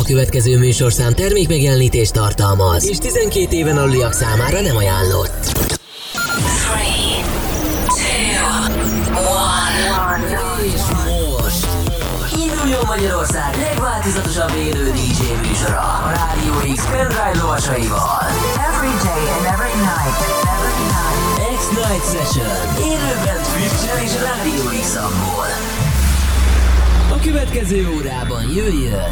következő műsorszám termékmegjelenítést tartalmaz, és 12 éven aluliak számára nem ajánlott. 3, 2, 1. És most induljon Magyarország legváltozatosabb élő DJ műsora a Rádió X pendrive lovasaival. Every day and every night. X-Night Session. Élőben Twitch-en és Rádió X-abból. A következő órában jöjjön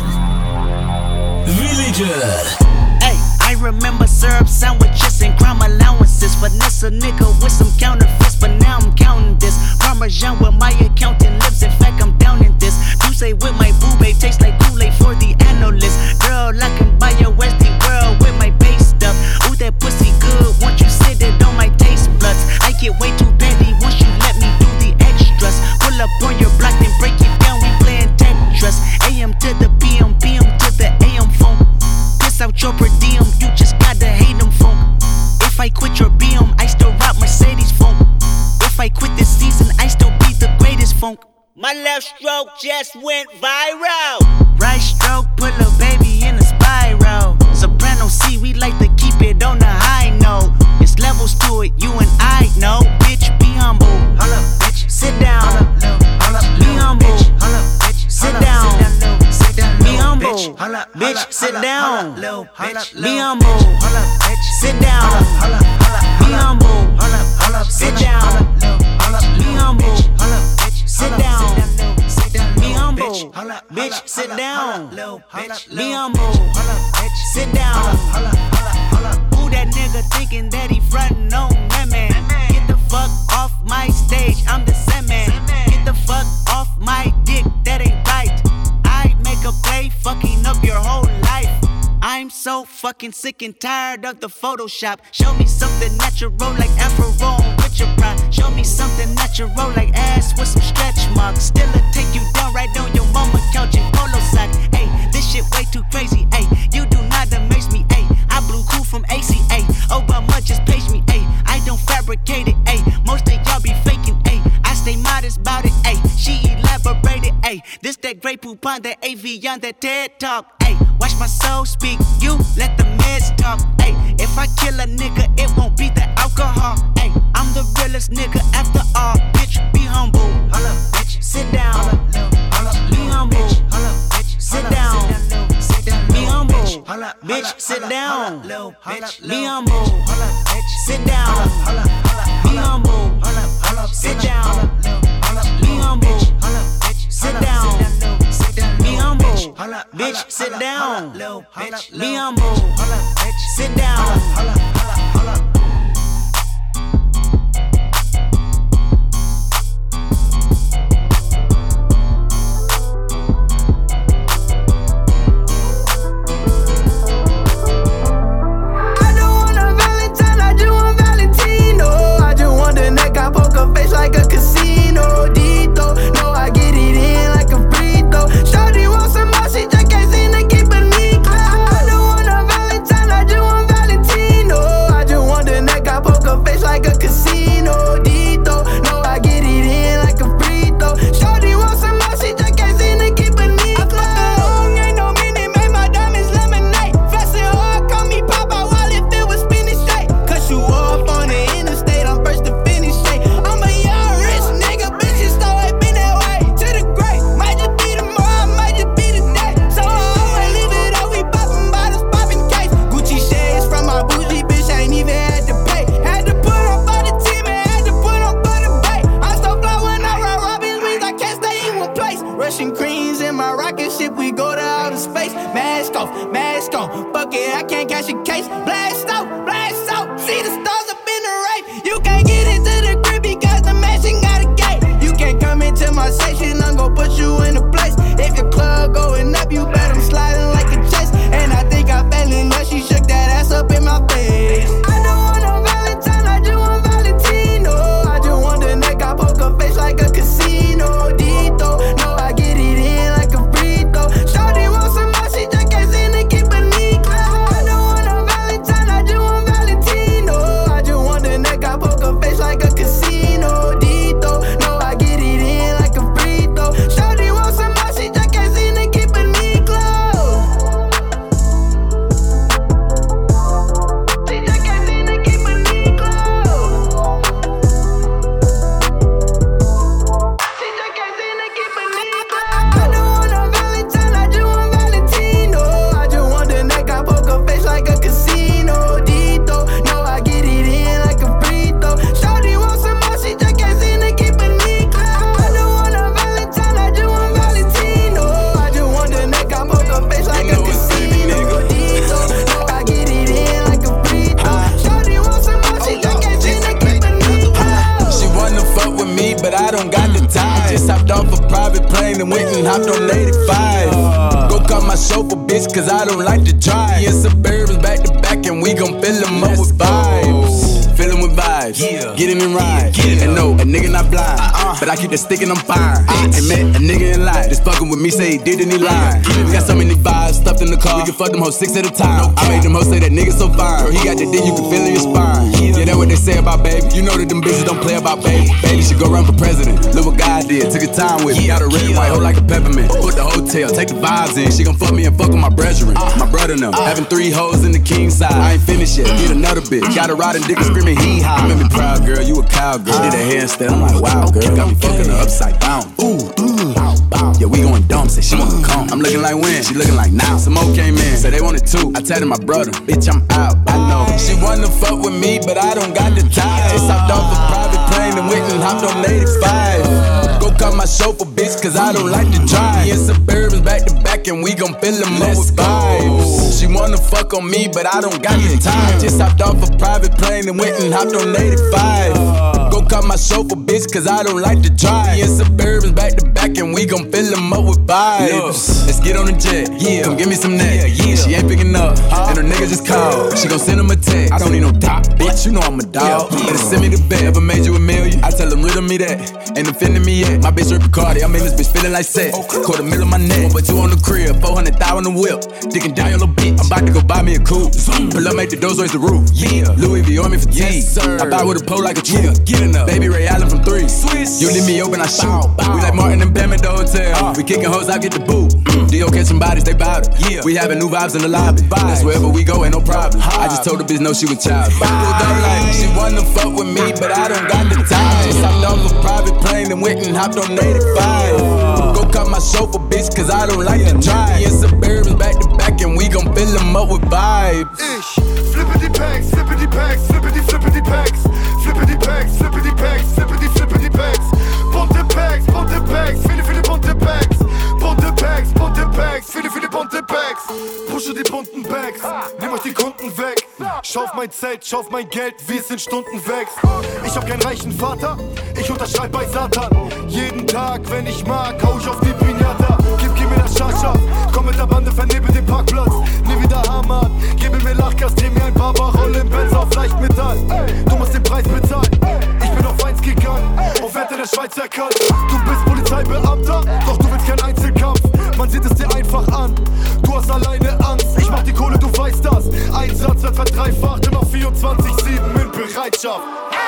Villager. Hey, I remember syrup sandwiches and crime allowances. Finesse a nigga with some counterfeits, but now I'm counting this. Parmesan with my accountant lips, in fact I'm down in this. Douce with my boo babe, tastes like Kool-Aid for the analyst. Girl, I can buy your Westie world with my base stuff. Ooh, that pussy good, once you sit it on my taste buds. I get way too petty once you let me do the extras. Pull up on your block, then break it down, we playing Tetris. AM to the PM, PM to the AM phone. Piss out your per diem, you just gotta hate them phone. If I quit your BM, I still rock Mercedes phone. If I quit this season, I still be the greatest funk. My left stroke just went viral. Right stroke put a baby in a spiral. Soprano C, we like to keep it on the high note. It's levels to it, you and I know. Bitch, be humble. Hold up, bitch. Sit down. Hold up, be humble. Hold up, bitch. Sit down. Be humble. Bitch, sit down. Be humble. Sit down. Be humble. Sit down. Be humble. Sit down. Be humble. Bitch, sit down. Be humble. Sit down. Who that nigga thinking that he frontin' on that man? Get the fuck off my stage, I'm the Sandman. Get the fuck off my dick, that ain't right. I make a play, fucking up your whole life. I'm so fucking sick and tired of the Photoshop. Show me something natural like Afro with your pride. Show me something natural like ass with some stretch marks. Still a take you down right on your mama couch in polo sock. Ayy, this shit way too crazy. Ayy, you do not amaze me. Ayy, I blew cool from ACA. Obama just page me. Ayy, I don't fabricate it. Ayy, most of y'all be faking. Ayy, I stay modest about it. Ayy, she elaborated. Ayy, this that Grey Poupon, that AV on that TED Talk. Ayy, watch my soul speak. You let the meds talk. Ayy, if I kill a nigga, it won't be the alcohol. Ayy, I'm the realest nigga after all. Bitch, be humble. Hold up, bitch. Sit down. Be humble. Sit down. Be humble. Bitch, sit down. Be humble. Sit down. Be humble. Sit down. Be humble. Sit down. Be humble. Bitch, sit down. Be humble. Sit down. Like a casino, Dito. No, I get it in like a free throw. Shorty wants some more, she just can't seem to keep a knee close. I don't want a Valentine, I just want Valentino. I just want the neck, I poker face like a casino, Dito. No, I get it in like a free throw. Shorty wants some more, she just can't seem to keep a knee close. Long ain't no minute, made my diamonds lemonade. Flexing hard, call me Papa while if it was spinning straight. Cut you off on the interstate, I'm first to finish straight. I'm a young rich nigga, bitch, it's always been that way. To the great, might just be tomorrow, might just be today. So I always leave it up, we poppin' bottles, poppin' case. Gucci shades from my bougie bitch, I ain't even had to pay. Had to put on for the team and had to put on for the bay. I'm so fly when I ride Robin Reeds, I can't stay in one place. Russian creams in my rocket ship, we go to outer space. Mask off, fuck it, I can't catch a case. Blast out, see the stars up in the race. You can't get into the crib because the mansion got a gate. You can't come into my section, I'm gon' put you in a place. If your club going up, you bet I'm sliding like a chase. And I think I fell in love, she shook that ass up in my face. I don't want no Valentine, I just want Valentino. I just want the neck, I poker face like a casino, Dito. No, I get it in like a free throw. Shorty wants some more, she just can't seem to keep a knee close. I don't want no Valentine, I just want Valentino. I just want the neck, I poker face like a casino, Dito. No, I get it in like a free throw. Shorty wants some more, she just can't seem to keep a knee close. my chauffeur, bitch, cause I don't like to drive. Me and Suburbans back to back, and we gon' fill them up with vibes. Fill them with vibes, get in and ride. And no, a nigga not blind, but I keep the stick and I'm fine. And met a nigga in line, just fucking with me, say he did and he lied. We got so many vibes stuffed in the car, we can fuck them hoes 6 at a time. I made them hoes say that nigga so fine, girl, he got the dick, you can feel in your spine. Yeah, that's what they say about baby. You know that them bitches don't play about baby. Baby should go run for president. Look what God did, took his time with me. Got a red and white hoe like a peppermint. Put the hotel, take the vibes in. She gon' fuck me and fuck with my brethren. My brother now, having 3 hoes in the king side. I ain't finished yet, get another bitch. Got a riding dick and screaming hee haw. You made me proud, girl, you a cowgirl. Did a handstand, I'm like, wow, girl. Got me fucking her upside down. Ooh, yeah, we going dumb, say she wanna come. I'm looking like when, she looking like now. Some more came in, said they wanted 2. I tatted my brother, bitch, I'm out, I know. She wanna fuck with me, but I don't got the time. Just hopped off a private plane and went and hopped on 85. Go call my chauffeur, bitch, cause I don't like to drive. Me and Suburbans back to back, and we gon' fill them up with vibes. She wanna fuck on me, but I don't got the time. Just hopped off a private plane and went and hopped on 85. Go call my chauffeur, bitch, cause I don't like to drive. Me and Suburbans back to back, and we gon' fill them up with vibes. Let's get on the jet, come give me some neck. She ain't picking up, and her nigga just called. She gon' send him a text. I don't need no top, bitch, you know I'm a dog. Better send me the bet, ever made you $1 million? I tell them rid of me that, ain't offending me yet. My bitch Rick Cardi, I'm in this bitch feeling like sex. $250,000 on my neck, but 2 on the crib, 400,000 on the whip. Digging down your little bitch, I'm about to go buy me a coupe. Pull up, make the doors raise the roof. Louis V on me for T. I buy with a pole like a tree. Baby Ray Allen from 3. You leave me open, I shoot. We like Martin and Bam at the hotel. We kicking hoes, I get the boot. D.O. catching bodies, they bout it. We having new vibes in the lobby. That's wherever we go, ain't no problem. I just told the bitch no, she was child. Like, she wanna fuck with me, but I don't got the time. Just hopped off a private plane and went and hopped on 85. Go call my chauffeur, bitch, cause I don't like to drive. Me and Suburbans back to back, and we gon' fill them up with vibes. Flippity packs, flippity packs, flippity flippity packs, flippity packs, flippity packs, flippity flippity packs, bunte packs, viele bunte packs, bunte packs, viele bunte packs. Pushe die bunten Bags, nimm euch die Kunden weg. Schau auf mein Zelt, schau auf mein Geld, wie es in Stunden wächst. Ich hab keinen reichen Vater, ich unterschreib bei Satan. Jeden Tag, wenn ich mag, hau ich auf die Pinata. Gib mir das Schachschaf, komm mit der Bande, vernebel den Parkplatz. Nie wieder Hammer, gib mir Lachgas, dreh mir ein Baba, roll im Benz auf Leichtmetall. Du musst den Preis bezahlen, ich bin auf 1 gegangen, auf Werte der Schweiz erkannt. Du bist Polizeibeamter, doch du willst keinen Einzelkampf. Man sieht es dir einfach an, du hast alleine Angst. Ich mach die Kohle, du weißt das. Einsatz wird verdreifacht, immer 24/7 in Bereitschaft.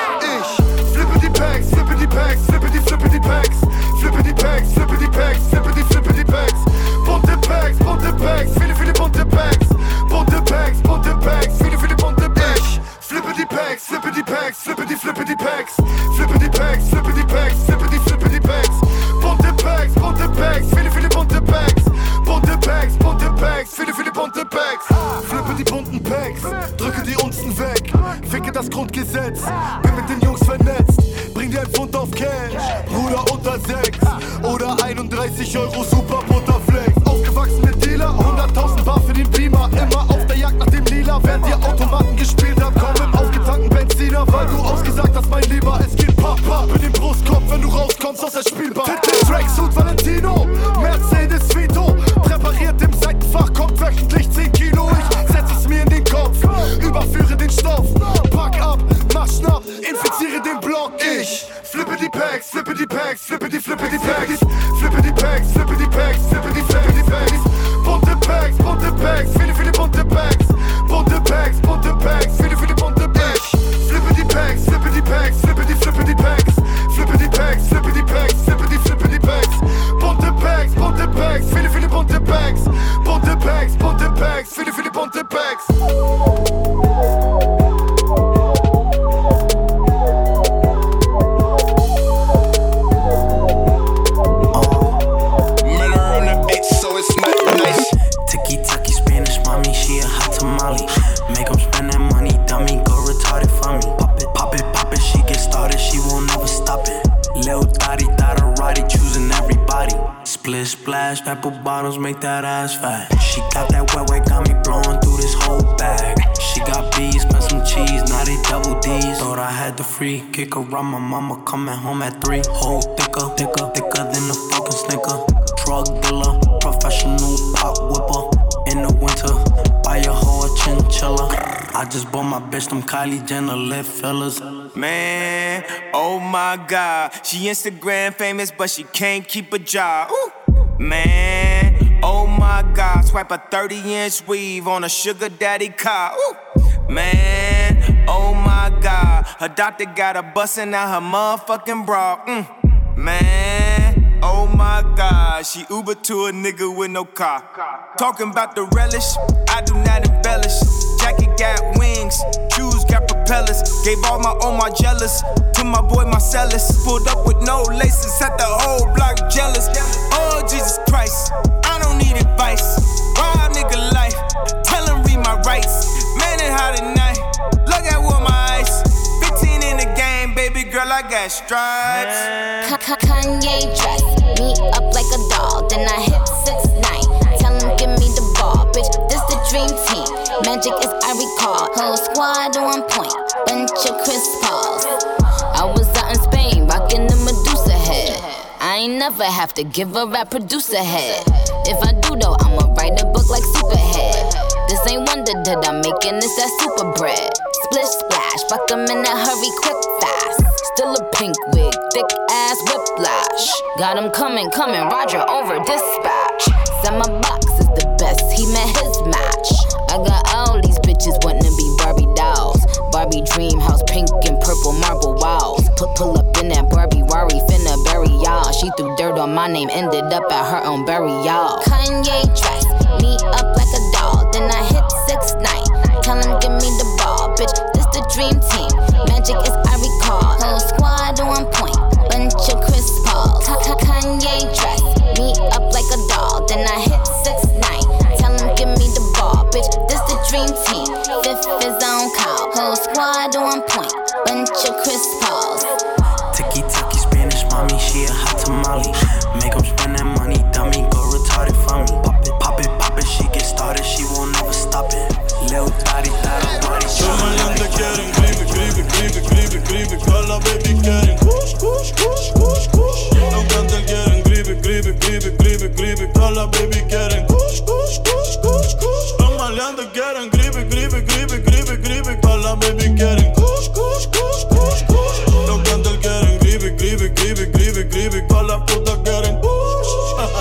Ich flippe die Packs, flippe die Packs, flippe die Packs, flippe die Packs, flippe die Packs, flippe die Packs. Bunte Packs, viele bunte Packs. Bunte Packs, viele bunte Packs. Flippe die Packs, flippe die Packs, flippe die Packs. Flippe die Packs, flippe die Packs, flippe die Packs. Bunte Packs, viele bunte Packs. Bunte Packs, viele bunte Packs. Flippe die bunten Packs, drücke die Unzen weg. Ficke das Grundgesetz, bin mit den Jungs vernetzt. Bring dir ein Pfund auf Cash, Bruder unter 6. Oder 31 € Super Butterflex. Aufgewachsen mit Dealer, 100.000 Bar für den Beamer. Immer auf der Jagd nach dem Lila, während ihr Automaten gespielt habt. Komm im aufgetankten Benziner, weil du ausgesagt hast, mein Lieber. Es geht Pap in den Brustkorb, wenn du rauskommst aus der Spielbar. Tracksuit Valentino, Mercedes Vito. Präpariert im Seitenfach, kommt wöchentlich 10 Kilo. Ich setz es mir in den Kopf, überführe den Stoff. Pack ab, mach schnapp, infiziere den Block. Ich flippe die Packs, flippe die Packs, flippe die Packs. Flippe die Packs, flippe die Packs, flippe die Packs. Bunte Packs, viele bunte Packs. Bunte Packs, viele bunte Packs. Flippe die Packs, flippe die Packs, flippe die Packs. Flippe die Packs, flippe die Packs, flippe die Packs. Bunte Packs, viele bunte Packs. Bunte Packs, viele bunte Packs. Tiki-taki Spanish, mommy, she a hot tamale. Make 'em spend that money, dummy, go retarded for me. Pop it, she get started, she won't never stop it. Lil Dottie, Dotterati, choosing everybody. Split splash, apple bottles, make that ass fat. She got that wet, got me blowing through this whole bag. She got B's, spent some cheese, now they double D's. Thought I had the free kick around my mama coming home at 3. Whole thicker than a fucking Snicker. Drug dealer, professional pop whipper. I just bought my bitch them Kylie Jenner lip fillers. Man, oh my God, she Instagram famous, but she can't keep a job. Ooh. Man, oh my God, swipe a 30-inch weave on a sugar daddy car. Ooh. Man, oh my God, her doctor got her bustin' out her motherfucking bra. Man, oh my God, she Uber to a nigga with no car. Talking about the relish, I do not embellish. Jacket got wings, shoes got propellers. Gave all my jealous to my boy Marcellus. Pulled up with no laces, had the whole block jealous. Oh Jesus Christ, I don't need advice. Wild nigga life, tell him read my rights. Man, it hot tonight, look at what my ice. 15 in the game, baby girl, I got stripes. Kanye dress me up like a doll, then I hit 6'9". Tell him give me the ball, bitch, this the dream team. Magic is I recall, whole squad on point, bunch of Chris Pauls. I was out in Spain, rockin' the Medusa head. I ain't never have to give a rap producer head. If I do though, I'ma write a book like Superhead. This ain't wonder that I'm making this that super bread. Splish splash, fuck 'em in a hurry, quick fast. Still a pink wig, thick ass whiplash. Got him coming, Roger over dispatch. Said my box is the best, he met his match. I got all these bitches wanting to be Barbie dolls. Barbie dream house, pink and purple marble walls. Pull up in that Barbie Rari, finna bury y'all. She threw dirt on my name, ended up at her own burial. Kanye dress me up like a doll, then I hit 6'9". Tell him give me the ball, bitch, this the dream team. Magic is I recall, whole squad on point, bunch of Chris Pauls. Kanye dress me up like a doll, then I hit 6'9". Tell him give me the ball, bitch, this the dream team. Fifth is on call, whole squad on point, bunch of Chris Pauls. Tiki-taki Spanish, mommy, she a hot tamale. Make 'em spend that money, dummy, go retarded for me. Pop it, she get started, she won't never stop it. Lil' Tari, body, Los maleantes quieren gribe, todas las baby quieren kush. Los cantantes quieren gribe, todas las baby quieren kush. Los maleantes quieren gribe, todas las baby quieren kush. Los cantantes quieren gribe, todas las putas quieren kush.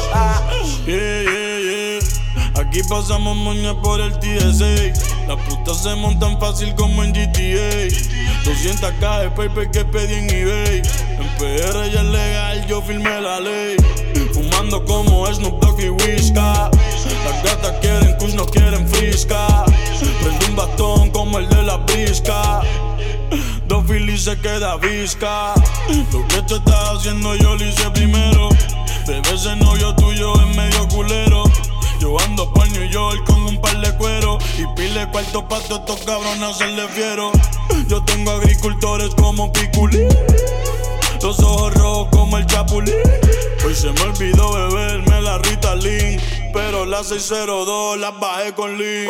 Yeah. Aquí pasamos moña por el TSA. Las putas se montan fácil como en GTA. 200k de paper que pedí en eBay. En PR ya es legal, yo firmé la ley. Fumando como Snoop Dogg y Whisca. Las gatas quieren kush, no quieren frisca. Prendo un bastón como el de la brisca. Dos Phillies se queda visca. Lo que tú estás haciendo yo lo hice primero. Bebé, ese novio tuyo es medio culero. Yo ando por New York con un par de cuero y pile cuarto pa' todos estos cabrones hacerle fiero. Yo tengo agricultores como Piculín, los ojos rojos como el Chapulín. Hoy se me olvidó beberme la Ritalin, pero las 602 las bajé con Lean.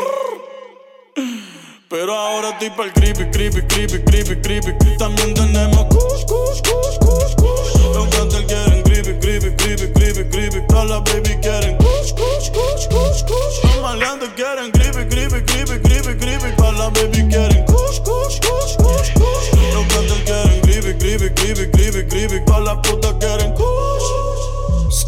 Pero ahora estoy pa'l creepy. También tenemos kush. Los cantantes quieren gribe, todas las baby quieren kush. Los maleantes quieren gribe, todas las baby quieren kush. Los cantantes quieren gribe, todas las putas quieren kush.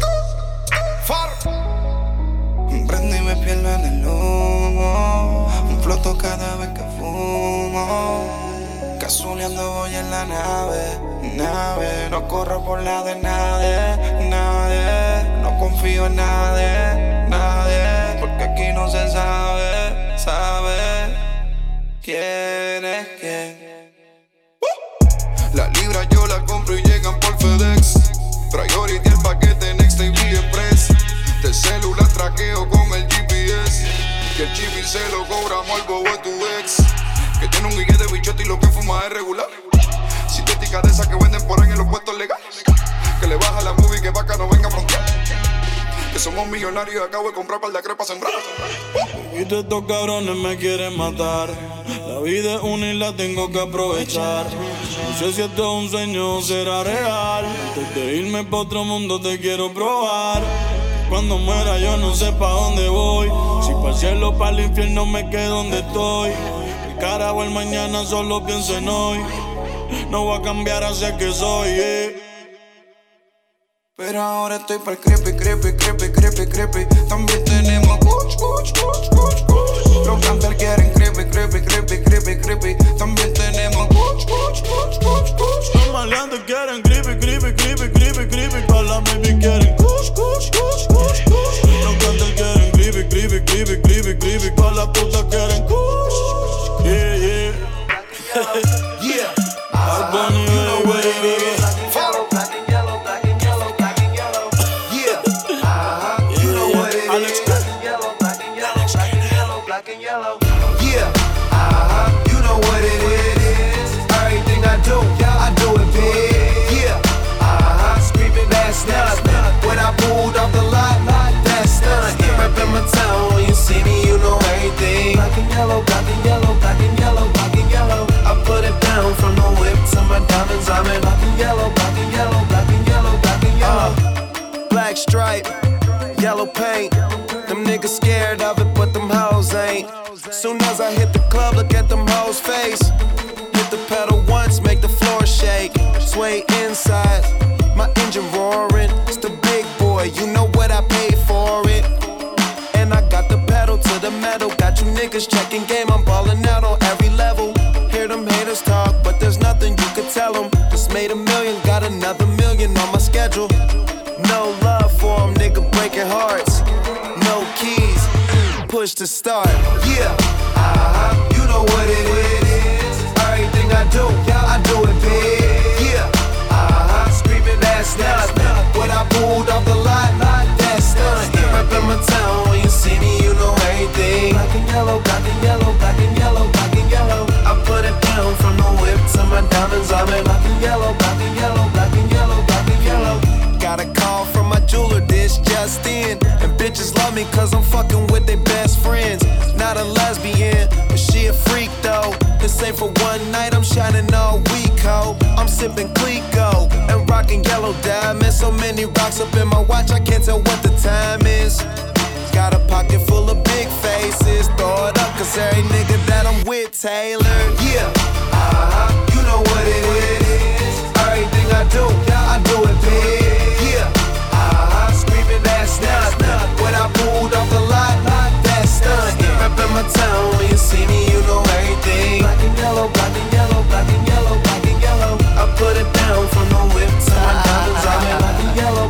Prendo y me pierdo en el humo. Floto cada vez que fumo. Cazuleando voy en la nave. No corro por la de nadie. No confío en nadie. Porque aquí no se sabe quién es quién. La libra yo la compro y llegan por FedEx. Priority el paquete Next TV Express. De celular traqueo con el GPS. Que el chibi se lo cobramos al bobo de tu ex. Que tiene un guille de bichote y lo que fuma es regular. Sintética de esas que venden por ahí en los puestos legales. Que le baja la movie que vaca no venga a frontear. Que somos millonarios y acabo de comprar par de crepas sembradas. Y todos estos cabrones me quieren matar. La vida es una y la tengo que aprovechar. No sé si esto es un sueño o será real. Antes de irme pa' otro mundo te quiero probar. Cuando muera yo no sé pa' dónde voy. Si pa' el cielo o pa' el infierno me quedo donde estoy. cara o el mañana, solo pienso en hoy. No voy a cambiar hacia que soy, Pero ahora estoy para el creepy. También tenemos kuch. Los campers quieren creepy. También tenemos kuch. Los maleantes quieren creepy. Pa' la baby quieren kuch. Los campers quieren creepy. Pa' la puta quieren kuch. Yeah. Bad Bunny, baby. When I pulled off the lot, that's done. Reppin' my town, when you see me, you know everything. Black and yellow. I put it down from the whip to my diamonds. I'm in black and yellow. Black stripe, yellow paint. Them niggas scared of it, but them hoes ain't. Soon as I hit the club, look at them hoes' face. Hit the pedal once, make the floor shake. Sway inside, my engine roaring. It's the big boy, you know what I paid for it. And I got the pedal to the metal. Got you niggas checking game, I'm ballin' out on every level. Hear them haters talk, but there's nothing you could tell them. Just made $1 million, got another $1 million on my schedule. No love for them, nigga breaking hearts. No keys, push to start. Yeah, you know what it is. Everything I do it big. Yeah, screaming that's nuts. When I pulled off the lot, that's done. Reppin' my town, when you see me, you know everything. Black and yellow. I put it down from the whip to my diamonds. I'm in black and yellow. Got a call from my jeweler, this just in. And bitches love me cause I'm fucking with their best friends. Not a lesbian, but she a freak though. This ain't for one night, I'm shining all week, ho. I'm sipping Clico and rocking yellow diamonds. So many rocks up in my watch, I can't tell what the time is. Got a pocket full of big faces. Throw it up cause every nigga that I'm with tailored. Yeah, you know what it is. Everything I do it big. Screaming that's nuts. When I pulled off the lot, that's done. Reppin' my town, when you see me, you know everything. Black and yellow. I put it down from the whip to my diamonds. I'm in black and yellow.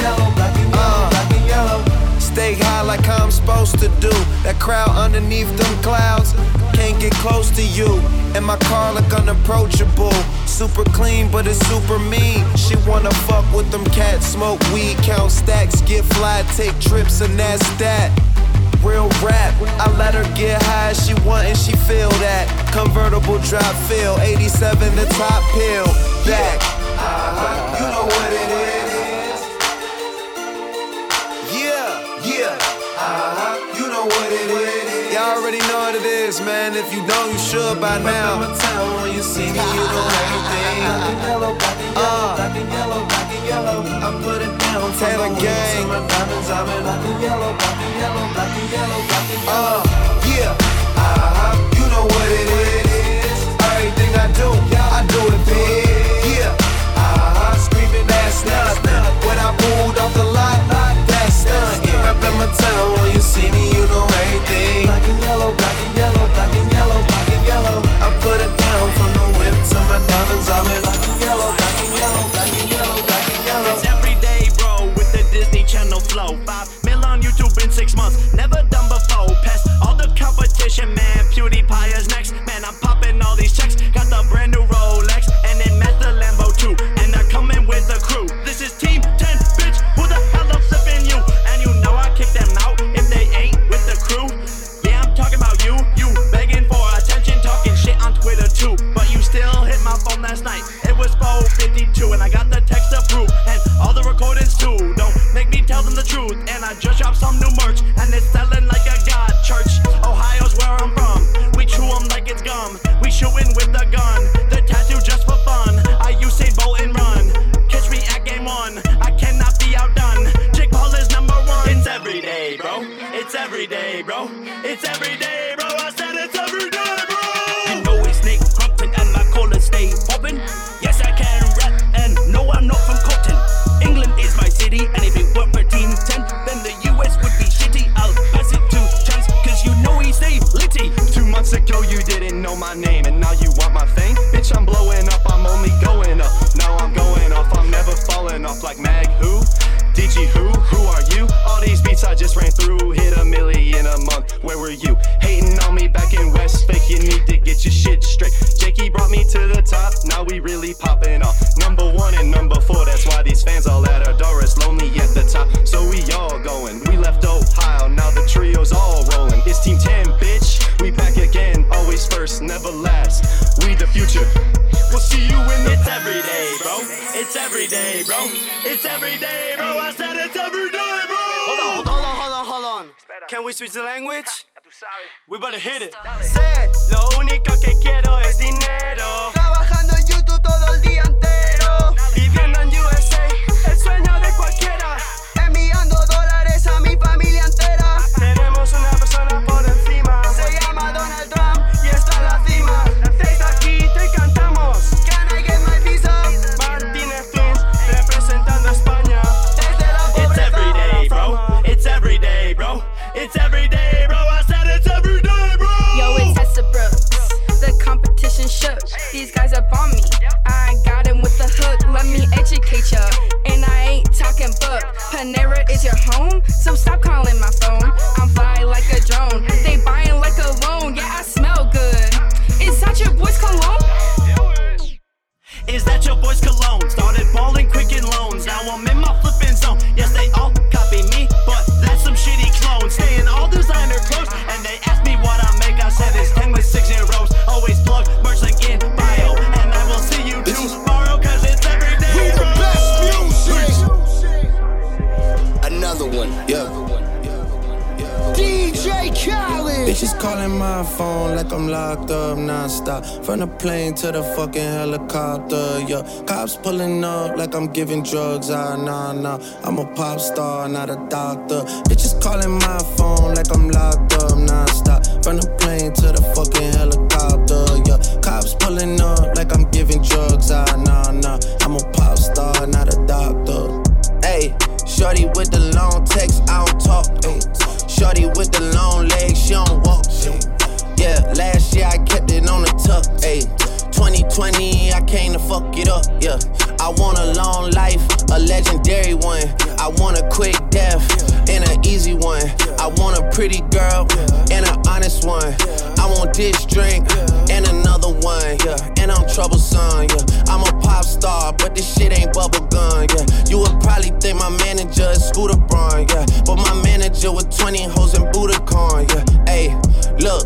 Stay high like I'm supposed to do. That crowd underneath them clouds can't get close to you. And my car look unapproachable. Super clean, but it's super mean. She wanna fuck with them cats, smoke weed, count stacks, get fly, take trips, and that's that. Real rap, I let her get high, she want and she feel that. Convertible drop feel, 87 the top pill, back. You know what it is. Yeah. You know what it is. Y'all already know what it is, man. If you don't, you should by now. When you see me, you know everything. Black and yellow. I put it down. Taylor Gang. Yeah. You know what it is. Everything I do it big. Yeah. Screaming that's nuts. When I pulled off the lot, that's done. Reppin' my town, when you see me, you know everything. Black and yellow. I put it down from the whip to my diamonds. I'm in black and yellow. It's every day, bro, with the Disney Channel flow. 5 mil on YouTube in 6 months, never done before. Past all the competition, man. PewDiePie is next, man. I'm popping all these checks. Got the brand new Rolex, and then met the Lambo too. And they're coming with the crew. This is Team 10, bitch. Who the hell I'm flipping you? And you know I kick them out if they ain't with the crew. Yeah, I'm talking about you. You begging for attention, talking shit on Twitter too. But you still hit my phone last night. It was 4:52, and I got the text to prove. And all the recordings too. Don't make me tell them the truth. And I just dropped some new merch, and it's selling like a god church. Ohio's where I'm from. We chew them like it's gum. We shooting with the gun. The tattoo just for fun. I Usain Bolt and run. Catch me at game 1. I cannot be outdone. Jake Paul is number 1. It's every day, bro. It's every day, bro. It's every day, bro. I said it's every day, bro. months ago you didn't know my name, and now you want my fame? Bitch, I'm blowing up, I'm only going up. Now I'm going off, I'm never falling off like Mag who? DG who are you? All these beats I just ran through, hit $1 million a month, where were you? Hating on me back in West, fake, you need to get your shit straight. Jakey brought me to the top, now we really popping off. Number 1 and number 4, that's why these fans all at our door. It's lonely at the top, so we all going. We left Ohio, now the trio's all rolling. It's Team 10, bitch, we back again, always first, never last. We the future, we'll see you in the It's every day, bro. It's every day, bro. It's every day, bro. I said it's every day, bro. Hold on. Can we switch the language? We better hit it. Sé, lo único que quiero es dinero. Trabajando en YouTube todo el día entero. Viviendo en USA, el sueño de cualquiera. Enviando dólares a mi familia entera. Tenemos una persona por encima. Se llama Donald Trump y está en la cima. Desde aquí te cantamos. Can I get my visa? Martínez Twins representando a España. Desde la pobreza. It's every day, bro. It's every day, bro. It's every day, bro. I said it's every day, bro. Yo, it's Tessa Brooks. The competition shook. These guys up on me. I got him with the hook. Let me educate ya. And I ain't talking book. Panera is your home, so stop calling my phone. I'm fly like a drone. They buying like a loan. Yeah, I smell good. Is that your boy's cologne? Is that your boy's cologne? Started balling quick in loans. Now I'm in my flipping zone. Yes, they all copy me, but that's some shitty clones. Stay in all designer clothes, and they ask me what I make. I said it's 10 with 6 zeros. Always plug merch link in bio, and I will see you tomorrow, cause it's every day. We the best music. Another one, yeah. DJ Khaled. Bitches calling my phone like I'm locked up non-stop. From the plane to the fucking helicopter, yeah. Cops pulling up like I'm giving drugs, nah. I'm a pop star, not a doctor. Bitches calling my phone like I'm locked up non-stop. From the plane to the fucking helicopter, yeah. Cops pulling up like I'm giving drugs, nah. I'm a pop star, not a doctor. Ayy, shorty with the long text, I don't talk, ayy. Shorty with the long legs, she don't walk. Yeah, last year I kept it on the tuck. Ayy, 2020 I came to fuck it up. Yeah, I want a long life, a legendary one. I want a quick death and an easy one. I want a pretty girl and an honest one. I want this drink and another one. Yeah, and I'm troublesome. Yeah, I'm a pop star, but this shit ain't bubblegum. Yeah, you would probably think my manager is Scooter Braun. Yeah, but my manager with 20 hoes and Budokan. Yeah, ayy, look.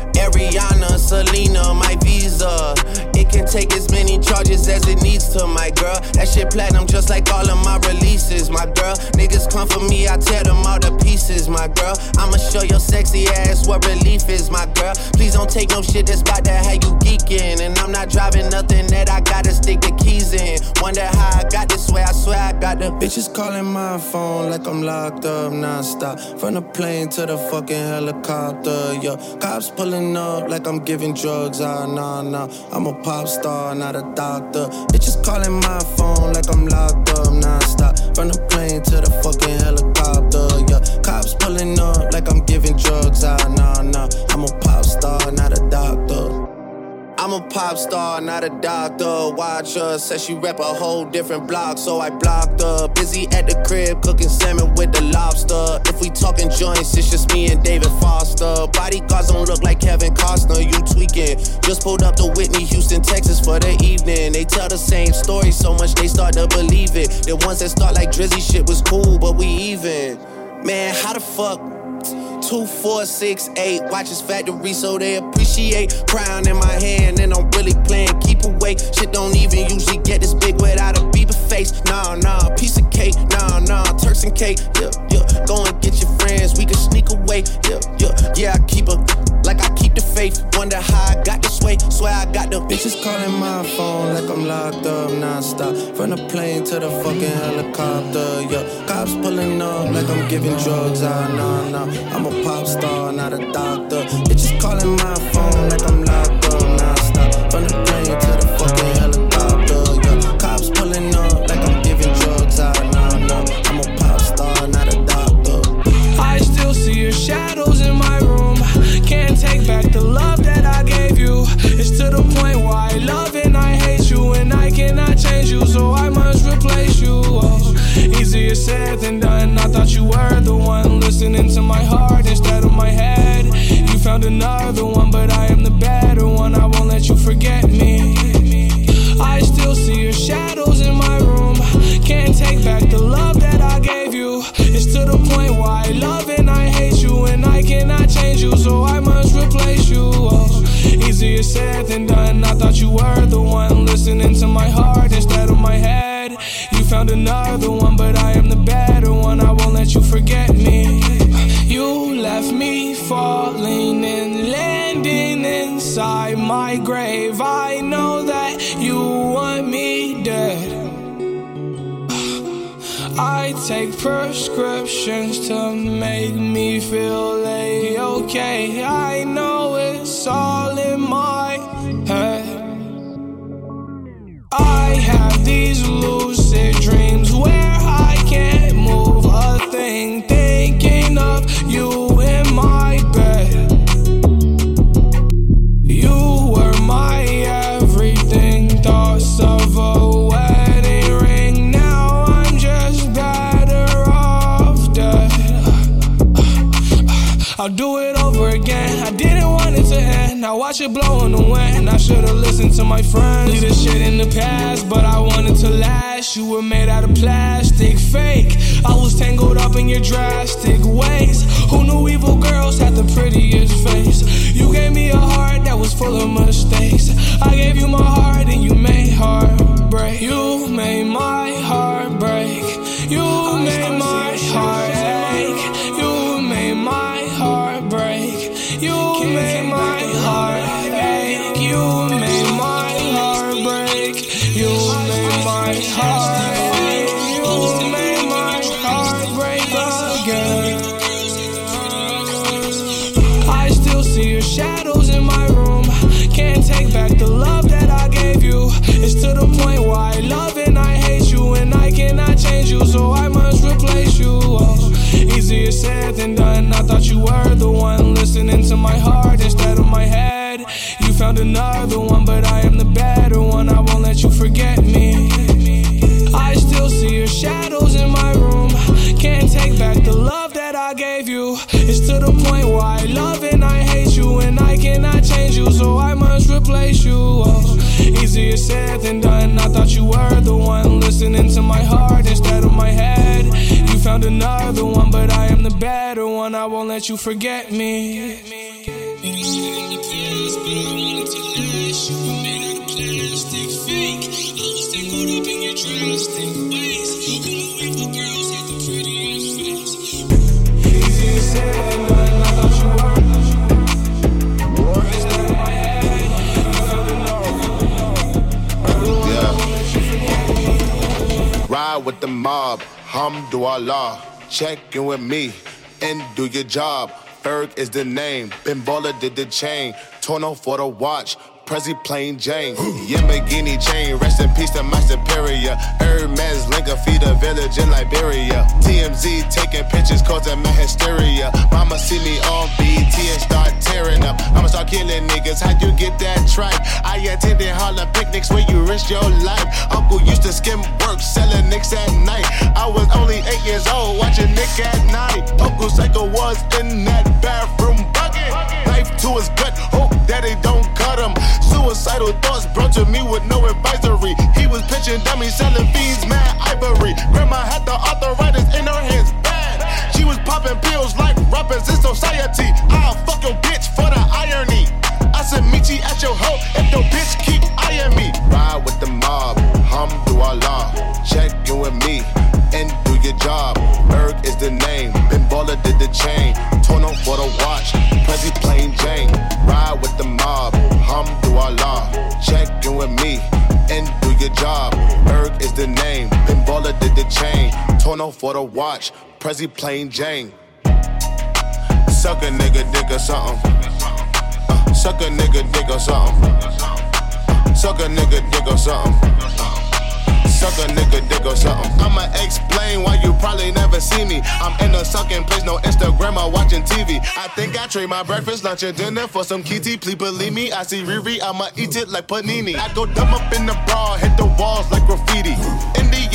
Ariana, Selena, my visa. It can take as many charges as it needs to, my girl. That shit platinum just like all of my releases, my girl. Niggas come for me, I tear them all to pieces, my girl. I'ma show your sexy ass what relief is, my girl. Please don't take no shit that's about to have you geeking. And I'm not driving nothing that I gotta stick the keys in. Wonder how I got this way, I swear I got the bitches calling my phone like I'm locked up non-stop. From the plane to the fucking helicopter, yeah. Cops pulling up like I'm giving drugs, nah. I'm a pop star, not a doctor. Bitches calling my phone like I'm locked up non-stop. From the plane to the fucking helicopter, yeah. Cops pulling up like I'm giving drugs, nah. I'm a pop star, not a doctor. I'm a pop star, not a doctor. Watch her, said she rep a whole different block, so I blocked her. Busy at the crib, cooking salmon with the lobster. If we talking joints, it's just me and David Foster. Bodyguards don't look like Kevin Costner, you tweaking. Just pulled up to Whitney, Houston, Texas for the evening. They tell the same story so much they start to believe it. The ones that start like Drizzy shit was cool, but we even. Man, how the fuck? 2, 4, 6, 8 watches factory so they appreciate. Crown in my hand and I'm really playing keep away. Shit don't even usually get this big without a Bieber face. Nah, piece of cake. Nah, Turks and cake. Yeah. Go and get your friends, we can sneak away. Yeah, I keep her like I keep the faith. Wonder how I got this way. Swear I got the bitches calling my phone like I'm locked up non-stop. From the plane to the fucking helicopter, yeah. Cops pulling up like I'm giving drugs, nah. I'm a pop star, not a doctor. Bitches calling my phone like I'm locked up non-stop. From the plane to the fucking helicopter, yeah. Cops pulling up like I'm giving drugs, nah. I'm a pop star, not a doctor. I still see your shadows in my room. Can't take back the love that found another one, but I am the better one. I won't let you forget me. I still see your shadows in my room. Can't take back the love that I gave you. It's to the point where I love and I hate you, and I cannot change you, so I must replace you. Oh, easier said than done. I thought you were the one listening to my heart instead of my head. You found another one, but I am the better one. I won't let you forget me. You left me falling and landing inside my grave. I know that you want me dead. I take prescriptions to make me feel A-okay. I know it's all in my head. I have these lucid dreams where I can't move a thing, thinking of you in my bed. You were my everything, thoughts of a wedding ring. Now I'm just better off dead. I'll do it over again. I didn't want it to end. Now watch it blow in the wind. I should've listened to my friends. Leave this shit in the past, but I wanted to last. You were made out of plastic, fake. I was tangled up in your drastic ways. Who knew evil girls had the prettiest face? You gave me a heart that was full of mistakes. I gave you my heart and you made heartbreak. You made my heart break. You made my heart ache. You made my heart break. You made my heart ache. You made my heart break. You made my heart ache. You made my heart break again. I still see your shadows in my room. Can't take back the love that I gave you. It's to the point where I love and I hate you, and I cannot change you, so I must replace you. Oh, easier said than done. I thought you were the one listening to my heart instead of my head. You found another one, but I am the better one. I won't let you forget me. I still see your shadows in my room. Can't take back the love that I gave you. It's to the point where I love and I hate you, and I cannot change you, so I must replace you. Oh, easier said than done. I thought you were the one listening to my heart instead of my head. You found another one, but I am the better one. I won't let you forget me. Ride with the mob, Hamdulillah. Check in with me and do your job. Ferg is the name, Ben Baller did the chain. Torno for the watch, Prezi plain Jane. Yamagini chain, rest in peace to my superior. Hermes Linka feed a village in Liberia. TMZ taking pictures causing my hysteria. Mama see me on BT and start tearing up. I'ma start killing niggas, how you get that tripe? I attended Harlem picnics where you risk your life. Uncle used to skim work, selling nicks at night. I was only 8 years old, watching Nick at night. Uncle Psycho was in that bathroom bucket. Knife to his gut, hope that they don't cut him. Suicidal thoughts brought to me with no advisory. He was pitching dummies, selling fiends, mad ivory. Grandma had the arthritis in her hands, bad. She was popping pills like rappers in society. I'll fuck your bitch for the irony. I said meet you at your hoe if your bitch keep eyeing me. Ride with the mob, Hamdulillah. Check in with me and do your job. Berg is the name, Ben Baller did the chain. Torno for the watch, Prezi plain Jane. Ride with the mob, Hamdulillah. Check in with me and do your job. Berg is the name, Ben Baller did the chain. Torno for the watch, Prezi plain Jane. Suck a nigga dick or something. Suck a nigga dick or something. Suck a nigga dick or something. Suck a nigga dick or something. I'ma explain why you probably never see me. I'm in a sucking place, no Instagram or watching TV. I think I trade my breakfast, lunch, and dinner for some kitty. Please believe me, I see Riri, I'ma eat it like panini. I go dumb up in the bra, hit the walls like graffiti. In the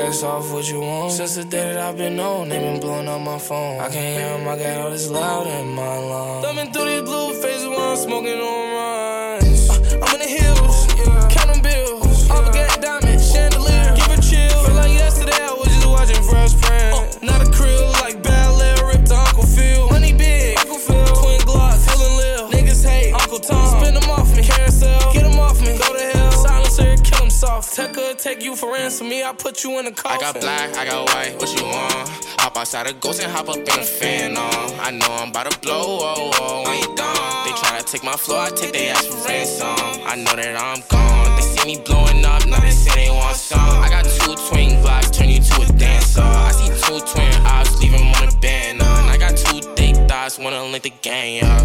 guess off what you want. Since the day that I've been on, they been blowing up my phone. I can't hear them, I got all this loud in my lungs. Thumbing through these blue faces while I'm smoking on runs. I'm in the hills, counting bills. All the gas diamond, chandelier, give it chill. Feel like yesterday I was just watching Fresh Prince. Not a crib like ballet, ripped to Uncle Phil. Money big, Uncle Phil. Twin Glocks, feeling live. Niggas hate Uncle Tom. Spin them off me, carousel, get them off me. Go to hell, silencer, kill them soft. Tucker, take you for ransom, me, I put you in a coffin. I got black, I got white, what you want? Hop outside a ghost and hop up in a fan on. I know I'm about to blow, oh, oh, when you done. They try to take my floor, I take their ass for ransom. I know that I'm gone. They see me blowing up, now they say they want some. I got 2 twin blocks, turn you to a dancer. I see 2 twin eyes, leave them on the band. And I got 2 thick thighs, wanna link the gang up.